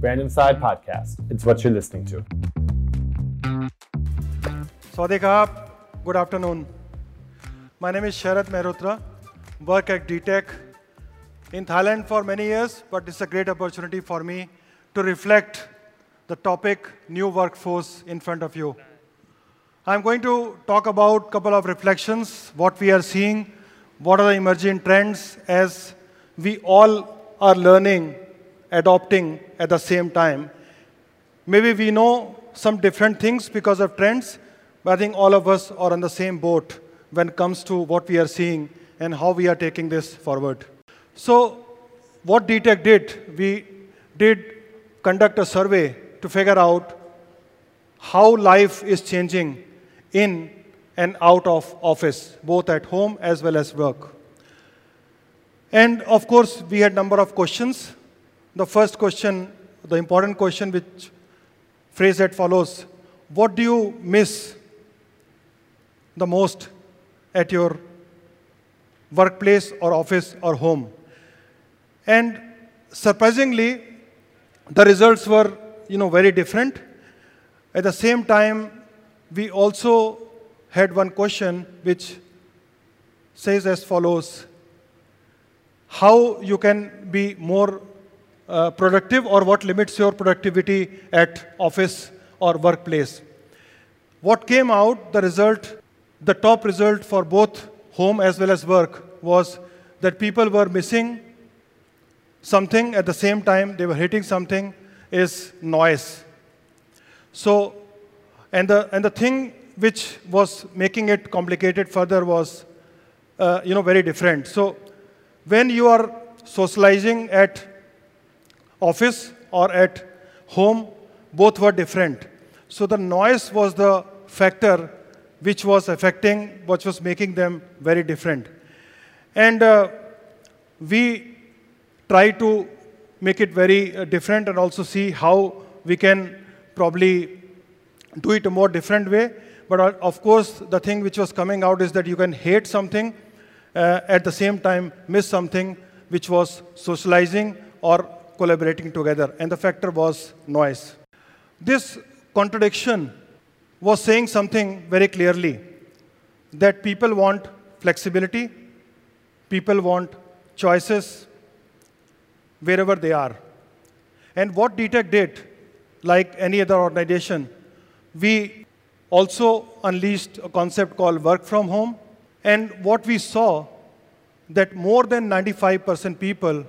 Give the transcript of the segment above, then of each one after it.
Random Side Podcast. It's what you're listening to. Sawadee Krap. Good afternoon. My name is Sharad Mehrotra. Work at DTech in Thailand for many years, but it's a great opportunity for me to reflect the topic new workforce in front of you. I'm going to talk about a couple of reflections, what we are seeing, what are the emerging trends as we all are learning, adopting at the same time. Maybe we know some different things because of trends, but I think all of us are on the same boat when it comes to what we are seeing and how we are taking this forward. So what DTech did, we did conduct a survey to figure out how life is changing in and out of office, both at home as well as work. And of course, we had a number of questions. The first question, the important question, which phrased as follows: what do you miss the most at your workplace or office or home? And surprisingly, the results were, very different. At the same time, we also had one question which says as follows: how you can be more productive, or what limits your productivity at office or workplace. What came out, the result, the top result for both home as well as work was that people were missing something at the same time they were hitting something is noise. So, and the thing which was making it complicated further was, very different. So, when you are socializing at office or at home, both were different. So the noise was the factor which was affecting, which was making them very different. And we try to make it very different and also see how we can probably do it a more different way. But of course, the thing which was coming out is that you can hate something, at the same time miss something which was socializing or collaborating together, and the factor was noise. This contradiction was saying something very clearly, that people want flexibility, people want choices wherever they are. And what DTech did, like any other organization, we also unleashed a concept called work from home. And what we saw, that more than 95% people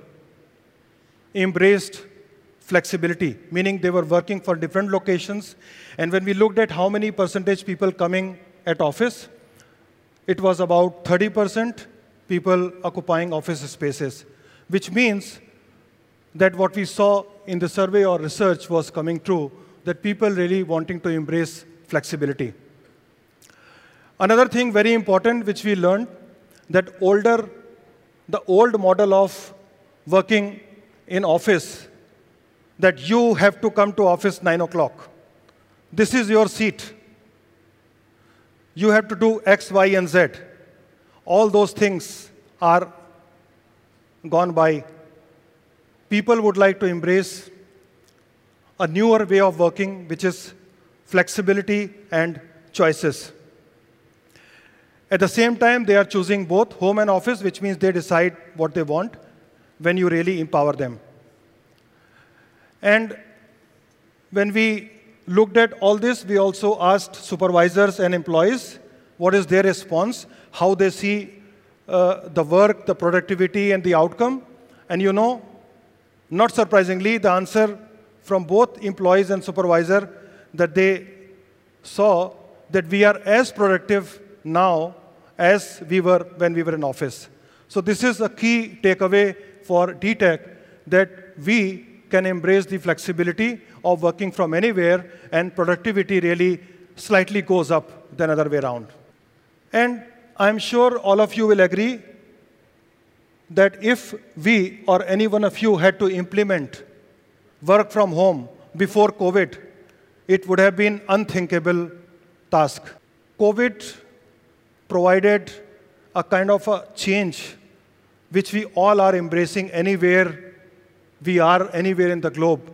embraced flexibility, meaning they were working for different locations. And when we looked at how many percentage people coming at office, it was about 30% people occupying office spaces, which means that what we saw in the survey or research was coming true, that people really wanting to embrace flexibility. Another thing very important which we learned, that the old model of working in office, that you have to come to office 9 o'clock. This is your seat. You have to do X, Y, and Z. All those things are gone by. People would like to embrace a newer way of working, which is flexibility and choices. At the same time, they are choosing both home and office, which means they decide what they want when you really empower them. And when we looked at all this, we also asked supervisors and employees what is their response, how they see the work, the productivity, and the outcome. And not surprisingly, the answer from both employees and supervisor, that they saw that we are as productive now as we were when we were in office. So this is a key takeaway for DTech, that we can embrace the flexibility of working from anywhere, and productivity really slightly goes up than other way around. And I'm sure all of you will agree that if we or any one of you had to implement work from home before COVID, it would have been unthinkable task. COVID provided a kind of a change which we all are embracing anywhere we are, anywhere in the globe.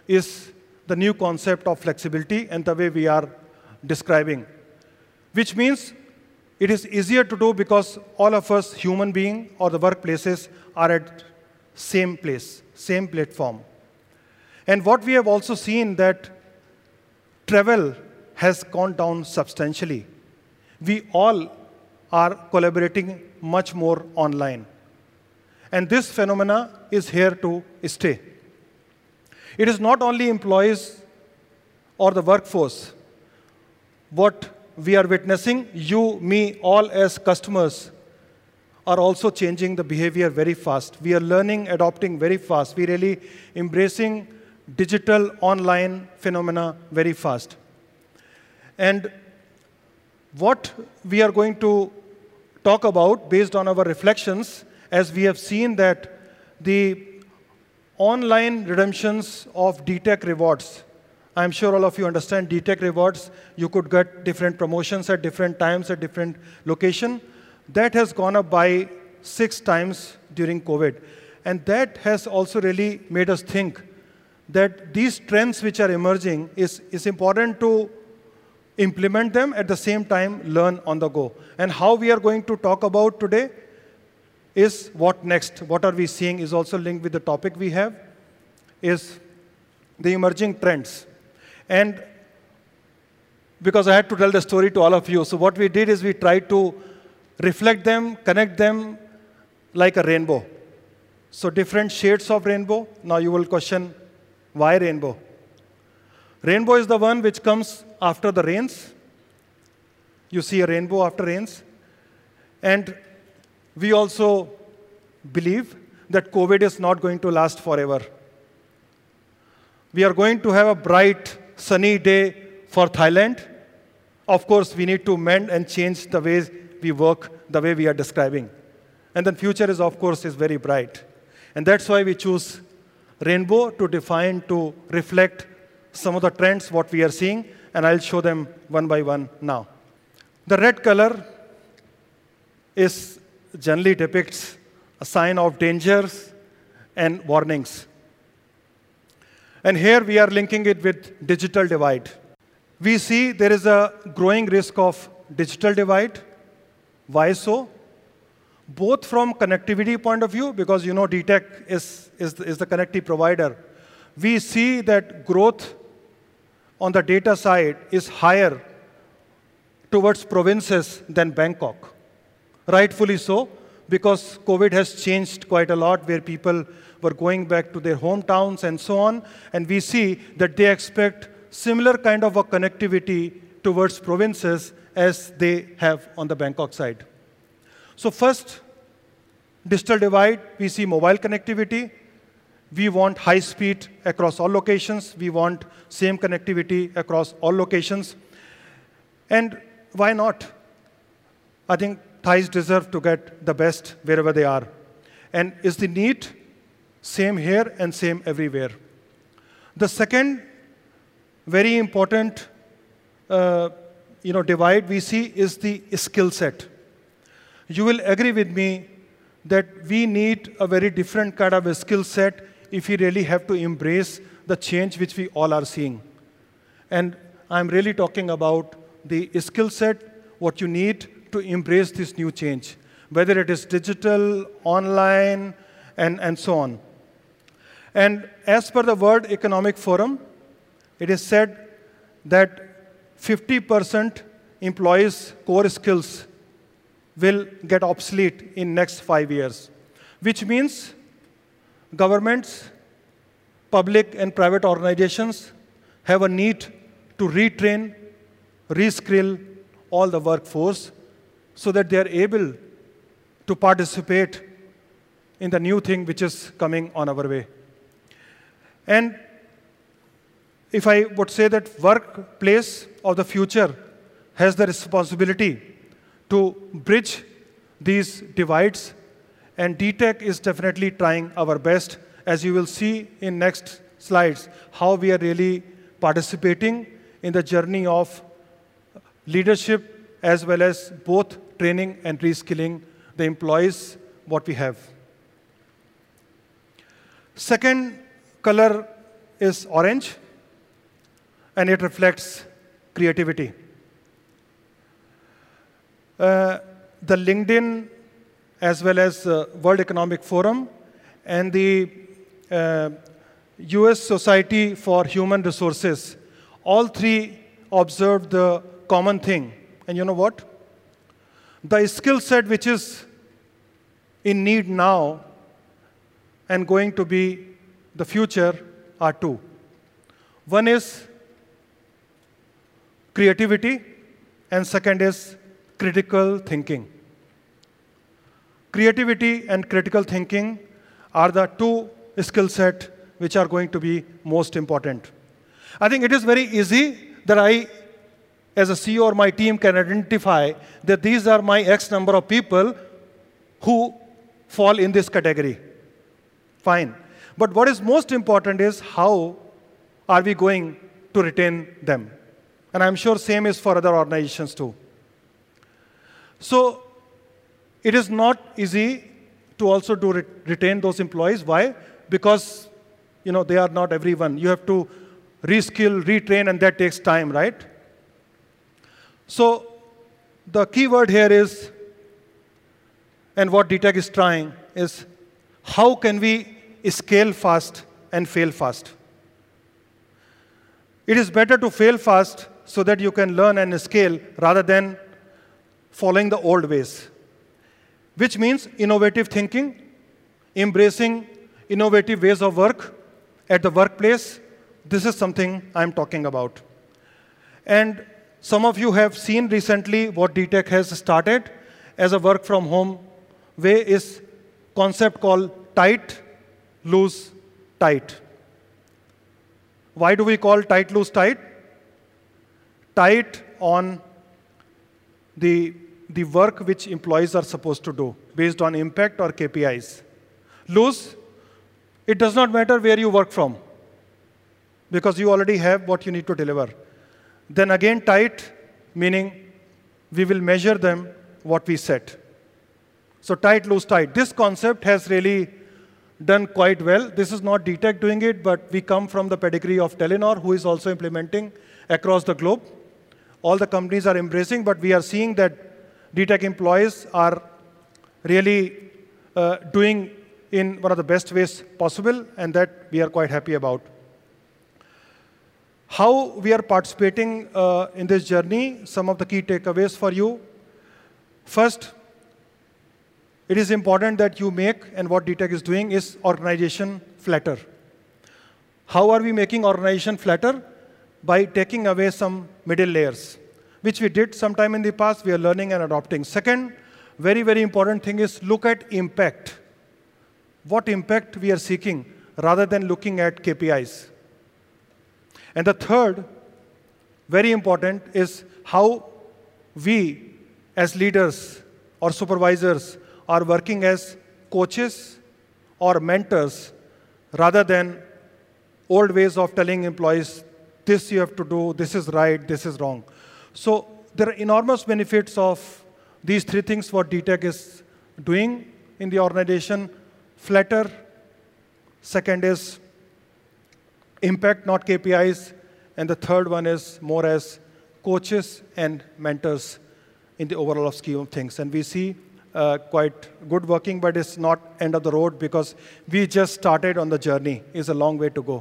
is the new concept of flexibility and the way we are describing, which means it is easier to do because all of us, human beings or the workplaces, are at same place, same platform. And what we have also seen that travel has gone down substantially. We all are collaborating much more online. And this phenomena is here to stay. It is not only employees or the workforce. What we are witnessing, you, me, all as customers, are also changing the behavior very fast. We are learning, adopting very fast. We are really embracing digital online phenomena very fast. And what we are going to talk about based on our reflections, as we have seen that the online redemptions of DTech rewards, I'm sure all of you understand DTech rewards, you could get different promotions at different times at different location. That has gone up by 6 times during COVID. And that has also really made us think that these trends which are emerging is important to implement them, at the same time learn on the go. And how we are going to talk about today is what next, what are we seeing is also linked with the topic we have, is the emerging trends. And because I had to tell the story to all of you, so what we did is we tried to reflect them, connect them like a rainbow. So different shades of rainbow. Now you will question, why rainbow? Rainbow is the one which comes after the rains. You see a rainbow after rains. And we also believe that COVID is not going to last forever. We are going to have a bright, sunny day for Thailand. Of course, we need to mend and change the ways we work, the way we are describing. And then future is, of course, is very bright. And that's why we choose rainbow to define, to reflect some of the trends, what we are seeing, and I'll show them one by one now. The red color generally depicts a sign of dangers and warnings. And here we are linking it with digital divide. We see there is a growing risk of digital divide. Why so? Both from connectivity point of view, because you know DTech is the connectivity provider. We see that growth on the data side is higher towards provinces than Bangkok. Rightfully so, because COVID has changed quite a lot, where people were going back to their hometowns and so on, and we see that they expect similar kind of a connectivity towards provinces as they have on the Bangkok side. So first, digital divide, we see mobile connectivity. We want high speed across all locations. We want same connectivity across all locations. And why not? I think Thais deserve to get the best wherever they are. And is the need same here and same everywhere? The second very important divide we see is the skill set. You will agree with me that we need a very different kind of a skill set if we really have to embrace the change which we all are seeing. And I'm really talking about the skill set, what you need to embrace this new change, whether it is digital, online, and so on. And as per the World Economic Forum, it is said that 50% employees' core skills will get obsolete in next 5 years, which means governments, public and private organizations have a need to retrain, reskill all the workforce so that they are able to participate in the new thing which is coming on our way. And if I would say that workplace of the future has the responsibility to bridge these divides, and DTech is definitely trying our best, as you will see in next slides, how we are really participating in the journey of leadership as well as both training and reskilling the employees what we have. Second color is orange, and it reflects creativity. The LinkedIn, as well as World Economic Forum, and the US Society for Human Resources, all three observed the common thing. And you know what? The skill set which is in need now and going to be the future are two. One is creativity, and second is critical thinking. Creativity and critical thinking are the two skill sets which are going to be most important. I think it is very easy that I, as a CEO or my team, can identify that these are my X number of people who fall in this category. Fine. But what is most important is how are we going to retain them? And I'm sure same is for other organizations too. So it is not easy to also retain those employees. Why? Because they are not everyone. You have to reskill, retrain, and that takes time, right? So the key word here is, and what DTEC is trying, is how can we scale fast and fail fast? It is better to fail fast so that you can learn and scale rather than following the old ways, which means innovative thinking, embracing innovative ways of work at the workplace. This is something I'm talking about. And some of you have seen recently what DTEC has started as a work from home way is concept called tight, loose, tight. Why do we call tight, loose, tight? Tight on the work which employees are supposed to do based on impact or KPIs. Loose, it does not matter where you work from because you already have what you need to deliver. Then again tight, meaning we will measure them what we set. So tight, loose, tight. This concept has really done quite well. This is not DTEC doing it, but we come from the pedigree of Telenor, who is also implementing across the globe. All the companies are embracing, but we are seeing that DTEC employees are really doing in one of the best ways possible, and that we are quite happy about. How we are participating in this journey, some of the key takeaways for you. First, it is important that you make, and what DTEC is doing is organization flatter. How are we making organization flatter? By taking away some middle layers, which we did sometime in the past. We are learning and adopting. Second, very, very important thing is look at impact. What impact we are seeking rather than looking at KPIs. And the third, very important, is how we as leaders or supervisors are working as coaches or mentors rather than old ways of telling employees, this you have to do, this is right, this is wrong. So there are enormous benefits of these three things what DTEC is doing in the organization. Flatter, second is impact, not KPIs, and the third one is more as coaches and mentors in the overall scheme of things. And we see quite good working, but it's not end of the road because we just started on the journey. It's a long way to go.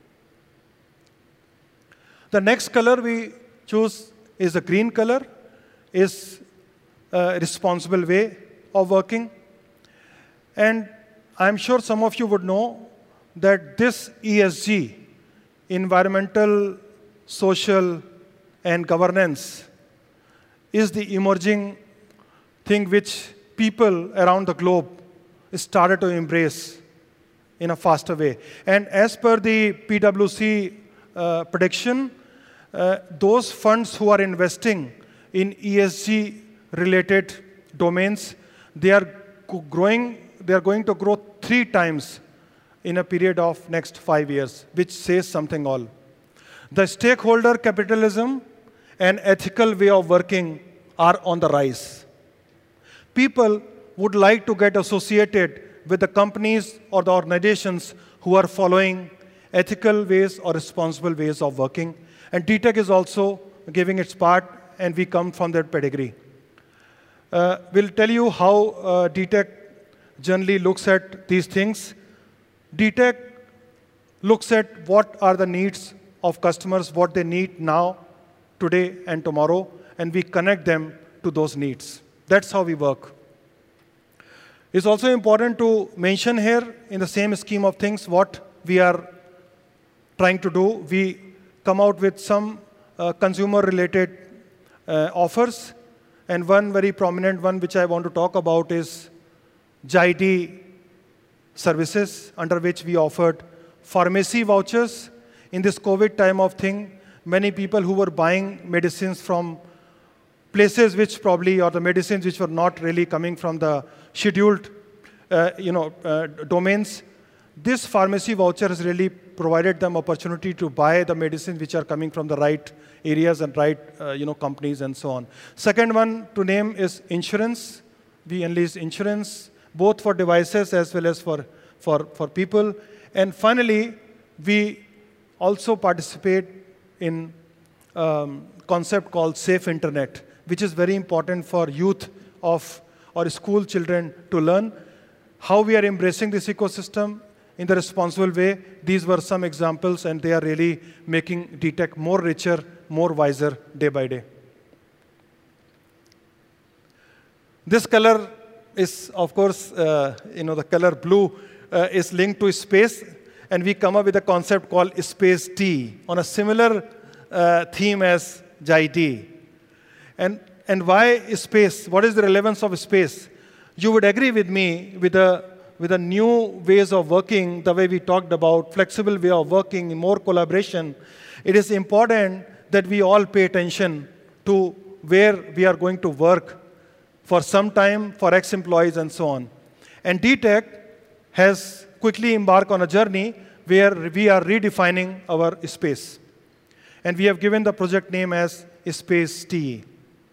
The next color we choose is the green color, is a responsible way of working. And I'm sure some of you would know that this ESG, environmental, social, and governance, is the emerging thing which people around the globe started to embrace in a faster way. And as per the PwC prediction, those funds who are investing in ESG-related domains, they are going to grow 3 times in a period of next 5 years, which says something all. The stakeholder capitalism and ethical way of working are on the rise. People would like to get associated with the companies or the organizations who are following ethical ways or responsible ways of working. And DTech is also giving its part, and we come from that pedigree. We'll tell you how DTech generally looks at these things. DTech looks at what are the needs of customers, what they need now, today, and tomorrow, and we connect them to those needs. That's how we work. It's also important to mention here, in the same scheme of things, what we are trying to do. We come out with some consumer-related offers, and one very prominent one which I want to talk about is JID services, under which we offered pharmacy vouchers. In this COVID time of thing, many people who were buying medicines from places which probably, or the medicines which were not really coming from the scheduled domains, this pharmacy voucher has really provided them opportunity to buy the medicines which are coming from the right areas and right companies and so on. Second one to name is insurance. We enlist insurance, both for devices as well as for people. And finally, we also participate in concept called Safe Internet, which is very important for youth of or school children to learn. How we are embracing this ecosystem in the responsible way, these were some examples, and they are really making DTech more richer, more wiser day by day. This color is, of course, the color blue is linked to space, and we come up with a concept called Space Tea on a similar theme as JID. And why space? What is the relevance of space? You would agree with me with the new ways of working, the way we talked about, flexible way of working, more collaboration. It is important that we all pay attention to where we are going to work for some time, for ex-employees and so on. And DTech has quickly embarked on a journey where we are redefining our space. And we have given the project name as Space Tea.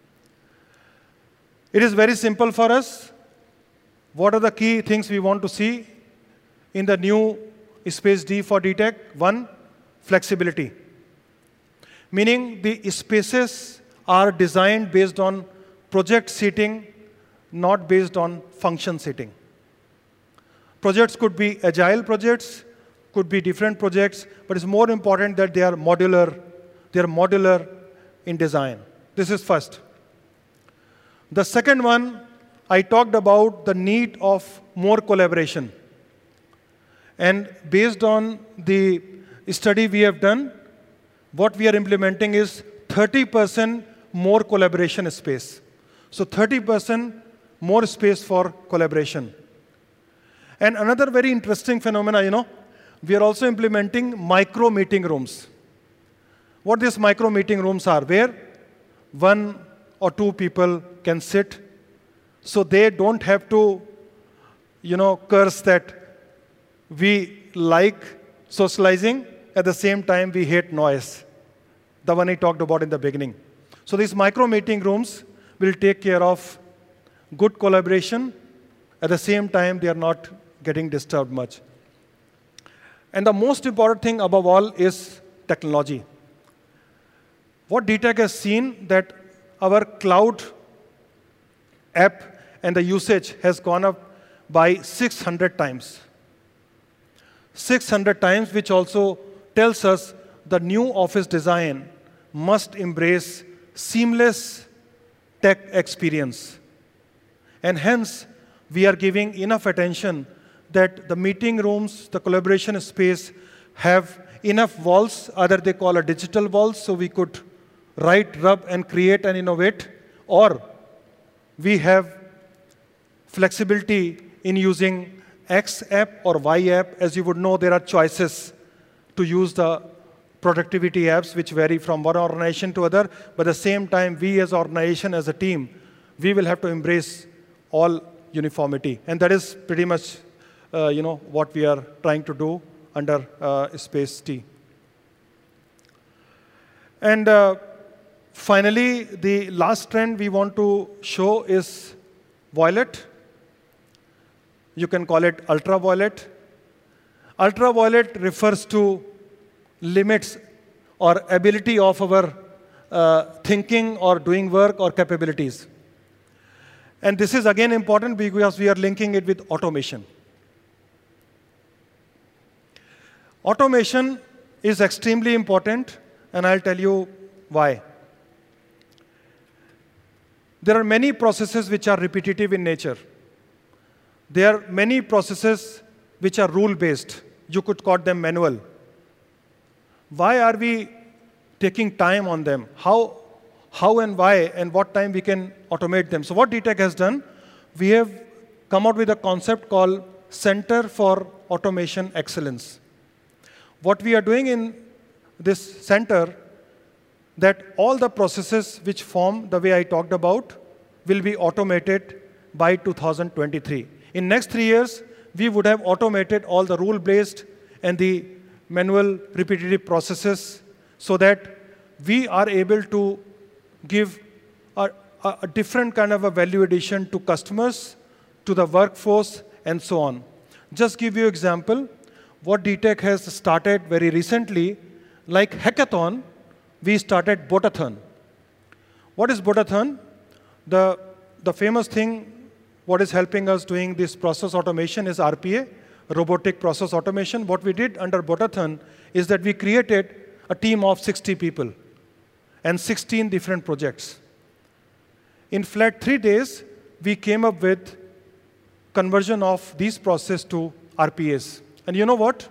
It is very simple for us. What are the key things we want to see in the new Space D for DTech? One, flexibility. Meaning the spaces are designed based on project seating, not based on function seating. Projects could be agile projects, could be different projects, but it's more important that they are modular. They are modular in design. This is first. The second one, I talked about the need of more collaboration. And based on the study we have done, what we are implementing is 30% more collaboration space. So 30% more space for collaboration. And another very interesting phenomena, we are also implementing micro meeting rooms. What these micro meeting rooms are, where one or two people can sit, so they don't have to, curse that we like socializing, at the same time we hate noise, the one I talked about in the beginning. So these micro meeting rooms will take care of good collaboration. At the same time, they are not getting disturbed much. And the most important thing above all is technology. What DTech has seen that our cloud app and the usage has gone up by 600 times. 600 times, which also tells us the new office design must embrace seamless tech experience. And hence, we are giving enough attention that the meeting rooms, the collaboration space have enough walls, either they call a digital walls, so we could write, rub, and create and innovate, or we have flexibility in using X app or Y app. As you would know, there are choices to use the productivity apps which vary from one organization to other, but at the same time, we as an organization, as a team, we will have to embrace all uniformity. And that is pretty much what we are trying to do under Space T. And finally, the last trend we want to show is violet. You can call it ultraviolet. Ultraviolet refers to limits or ability of our thinking or doing work or capabilities. And this is again important because we are linking it with automation. Automation is extremely important, and I'll tell you why. There are many processes which are repetitive in nature. There are many processes which are rule-based. You could call them manual. Why are we taking time on them? How and why and what time we can automate them? So what DTEC has done, we have come out with a concept called Center for Automation Excellence. What we are doing in this center, that all the processes which form the way I talked about will be automated by 2023. In next 3 years, we would have automated all the rule-based and the manual repetitive processes so that we are able to give a different kind of a value addition to customers, to the workforce, and so on. Just give you an example, what DTEC has started very recently, like hackathon, we started Botathon. What is Botathon? The famous thing, what is helping us doing this process automation is RPA, robotic process automation. What we did under Botathon is that we created a team of 60 people and 16 different projects. In flat 3 days, we came up with conversion of these processes to RPAs. And you know what?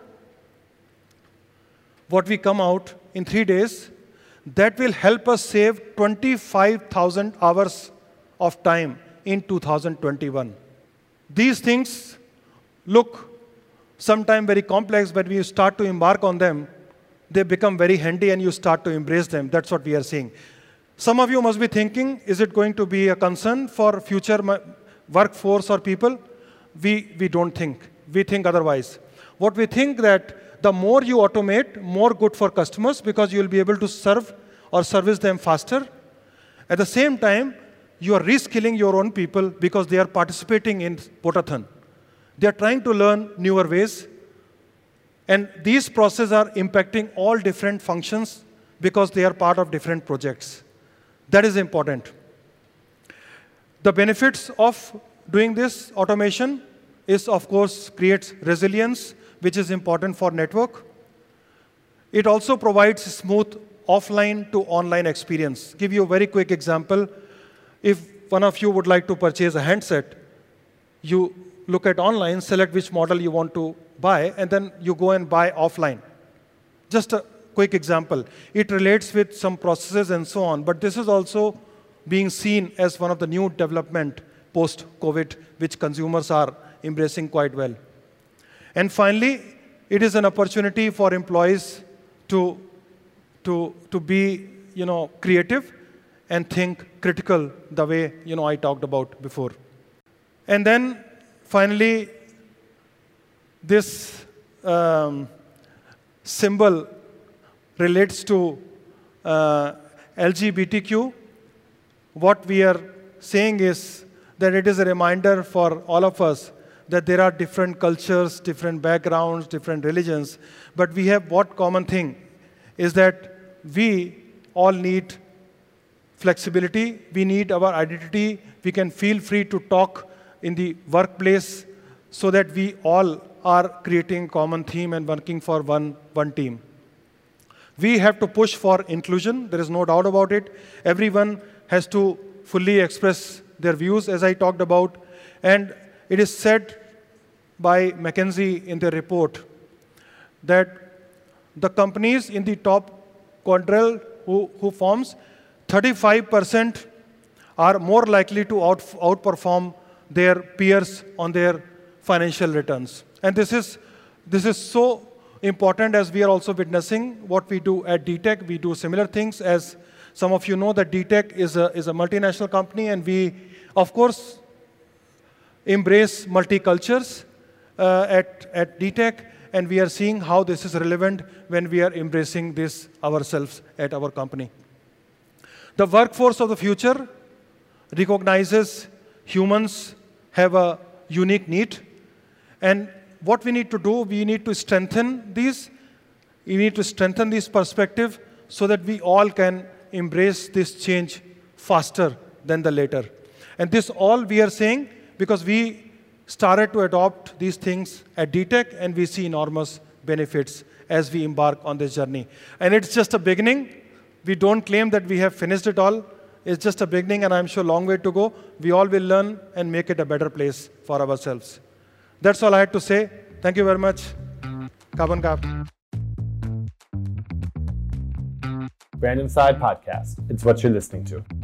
What we come out in 3 days, that will help us save 25,000 hours of time in 2021. These things look sometimes very complex, but when you start to embark on them, they become very handy and you start to embrace them. That's what we are seeing. Some of you must be thinking, is it going to be a concern for future workforce or people? We don't think. We think otherwise. What we think that the more you automate, more good for customers because you'll be able to serve or service them faster. At the same time, you are reskilling your own people because they are participating in Botathon. They are trying to learn newer ways. And these processes are impacting all different functions because they are part of different projects. That is important. The benefits of doing this automation is, of course, creates resilience, which is important for network. It also provides smooth offline to online experience. Give you a very quick example. If one of you would like to purchase a handset, you look at online, select which model you want to buy, and then you go and buy offline. Just a quick example. It relates with some processes and so on, but this is also being seen as one of the new development post-COVID, which consumers are embracing quite well. And finally, it is an opportunity for employees to be, creative and think critical the way, I talked about before. And then finally, this symbol relates to LGBTQ. What we are saying is that it is a reminder for all of us that there are different cultures, different backgrounds, different religions, but we have what common thing is that we all need flexibility, we need our identity, we can feel free to talk in the workplace so that we all are creating common theme and working for one team. We have to push for inclusion, there is no doubt about it. Everyone has to fully express their views, as I talked about, and it is said by McKinsey in their report that the companies in the top quadrille who forms 35% are more likely to outperform their peers on their financial returns. And this is so important as we are also witnessing what we do at DTEC. We do similar things. As some of you know that DTEC is a multinational company, and we, of course, embrace multicultures at DTEC, and we are seeing how this is relevant when we are embracing this ourselves at our company. The workforce of the future recognizes humans have a unique need, and what we need to do, we need to strengthen these You need to strengthen this perspective so that we all can embrace this change faster than the later. And this all we are saying because we started to adopt these things at DTech, and we see enormous benefits as we embark on this journey. And it's just a beginning. We don't claim that we have finished it all. It's just a beginning, and I'm sure a long way to go. We all will learn and make it a better place for ourselves. That's all I had to say. Thank you very much. Carbon Cap. Brand Inside Podcast. It's what you're listening to.